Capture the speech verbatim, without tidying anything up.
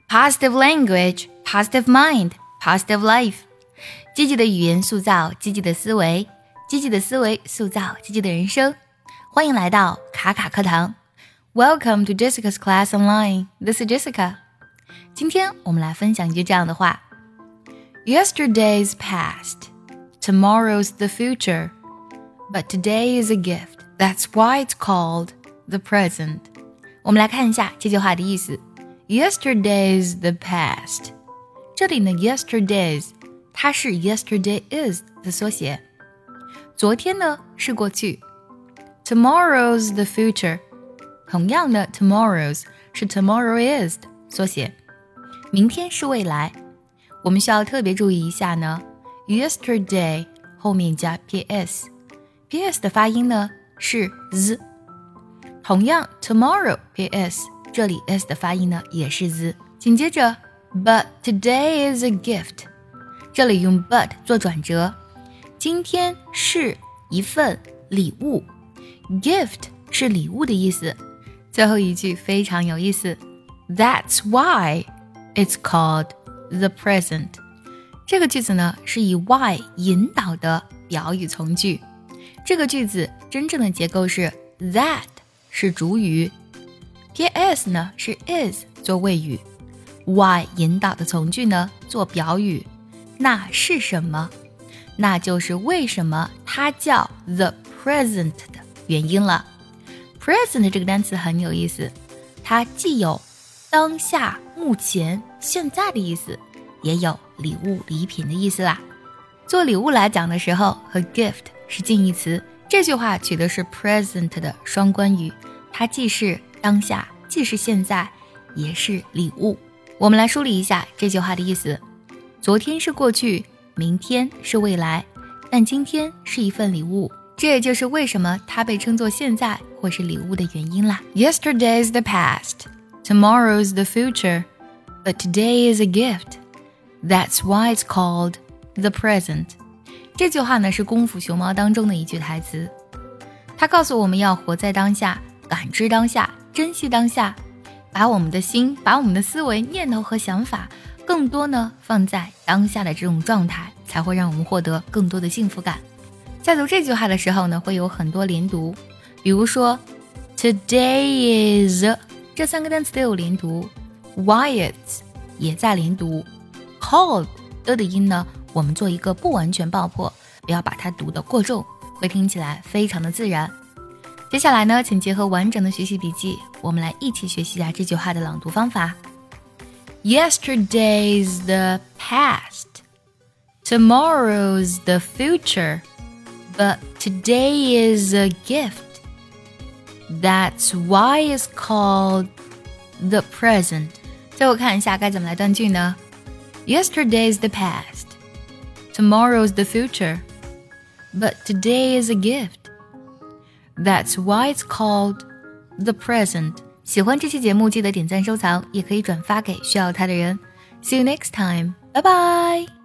Positive language, positive mind, positive life. 积极的语言塑造积极的思维，积极的思维塑造积极的人生。欢迎来到卡卡课堂。Welcome to Jessica's Class Online. This is Jessica. 今天我们来分享一句这样的话。Yesterday's past, tomorrow's the future, but today is a gift. That's why it's called the present. 我们来看一下这句话的意思。Yesterday's the past. 这里呢 yesterday's 它是 yesterday is 的缩写。昨天呢是过去。Tomorrow's the future. 同样的 tomorrow's 是 tomorrow is 的缩写。明天是未来。我们需要特别注意一下呢 yesterday 后面加 ps ps 的发音呢是 z。同样 tomorrow ps 这里 s 的发音呢也是 z。紧接着 but today is a gift 这里用 but 做转折。今天是一份礼物 gift 是礼物的意思。最后一句非常有意思 That's why it's called the present. 这个句子呢是以 why 引导的表语从句。这个句子真正的结构是 that 是主语 ps 呢是 is 做谓语 why 引导的从句呢做表语。那是什么？那就是为什么它叫 the present 的原因了。 present 这个单词很有意思，它既有当下目前现在的意思，也有礼物礼品的意思啦。做礼物来讲的时候和 gift 是近义词，这句话取的是 present 的双关语，它既是当下既是现在也是礼物。我们来梳理一下这句话的意思。昨天是过去，明天是未来，但今天是一份礼物，这也就是为什么它被称作现在或是礼物的原因啦。 Yesterday's the past, tomorrow's the future, but today is a gift. That's why it's called the present. 这句话呢是功夫熊猫当中的一句台词，它告诉我们要活在当下，感知当下，珍惜当下，把我们的心把我们的思维念头和想法更多呢放在当下的这种状态，才会让我们获得更多的幸福感。在读这句话的时候呢会有很多连读，比如说 Today is 这三个单词都有连读， Why it's 也在连读， Called 的的音呢我们做一个不完全爆破，不要把它读得过重，会听起来非常的自然。接下来呢请结合完整的学习笔记，我们来一起学习一下这句话的朗读方法。 Yesterday's the past, tomorrow's the future, but today is a gift. That's why it's called the present. 最后看一下该怎么来断句呢？ Yesterday's the past, tomorrow's the future, but today is a gift. That's why it's called the present. 喜欢这期节目记得点赞收藏，也可以转发给需要它的人。See you next time. Bye bye.